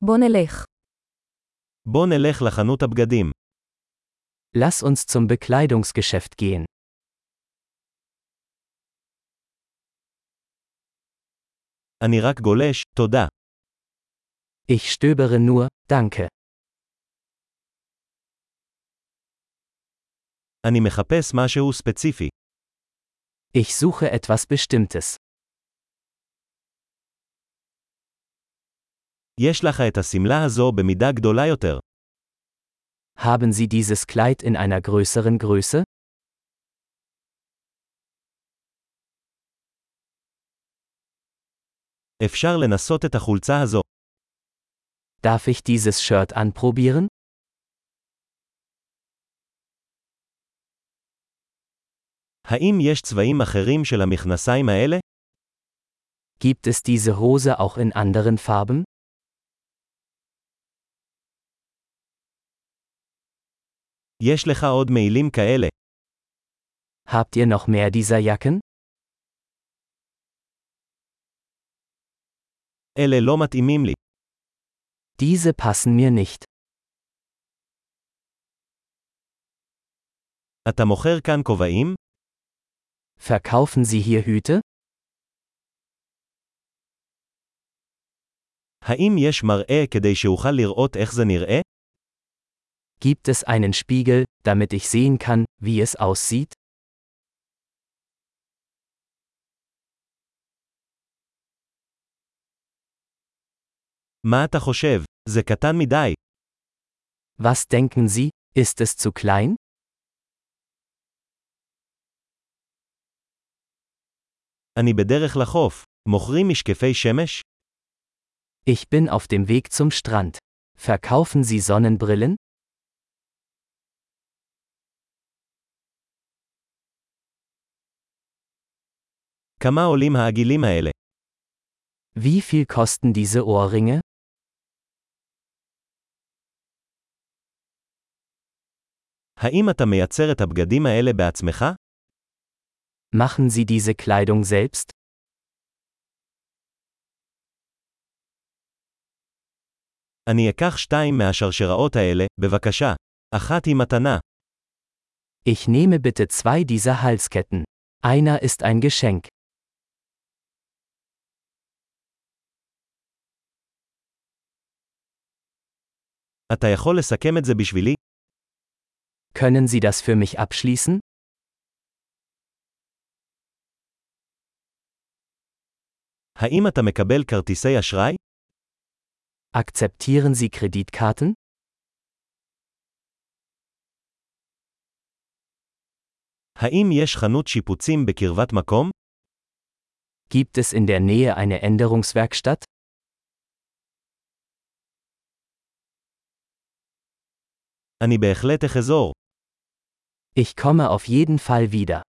בוא נלך. בוא נלך לחנות הבגדים. Lass uns zum Bekleidungsgeschäft gehen. אני רק גולש, תודה. Ich stöbere nur, danke. אני מחפש משהו ספציפי. Ich suche etwas Bestimmtes. יש לך את השמלה הזו במידה גדולה יותר. Haben Sie dieses Kleid in einer größeren Größe? אפשר לנסות את החולצה הזו. Darf ich dieses Shirt anprobieren? האם יש צבעים אחרים של המכנסיים האלה? Gibt es diese Hose auch in anderen Farben? יש לך עוד מעילים כאלה. Habt ihr noch mehr dieser Jacken? אלה לא מתאימים לי. Diese passen mir nicht. אתה מוכר כאן כובעים? Verkaufen Sie hier Hüte? האם יש מראה כדי שאוכל לראות איך זה נראה? Gibt es einen Spiegel, damit ich sehen kann, wie es aussieht? מה אתה חושב? זה קטן מדי. Was denken Sie, ist es zu klein? אני בדרך לחוף. מוכרים משקפי שמש? Ich bin auf dem Weg zum Strand. Verkaufen Sie Sonnenbrillen? כמה עולים העגילים האלה? Wie viel kosten diese Ohrringe? האם אתה מייצר את הבגדים האלה בעצמך? Machen Sie diese Kleidung selbst? אני אקח 2 מהשרשראות האלה, בבקשה. אחת היא מתנה. Ich nehme bitte 2 dieser Halsketten. Einer ist ein Geschenk. אתה יכול לסכם את זה בשבילי? Können Sie das für mich abschließen? האם אתה מקבל כרטיסי אשראי? Akzeptieren Sie Kreditkarten? האם יש חנות שיפוצים בקרבת מקום? Gibt es in der Nähe eine Änderungswerkstatt? אני בהחלט אחזור. Ich komme auf jeden Fall wieder.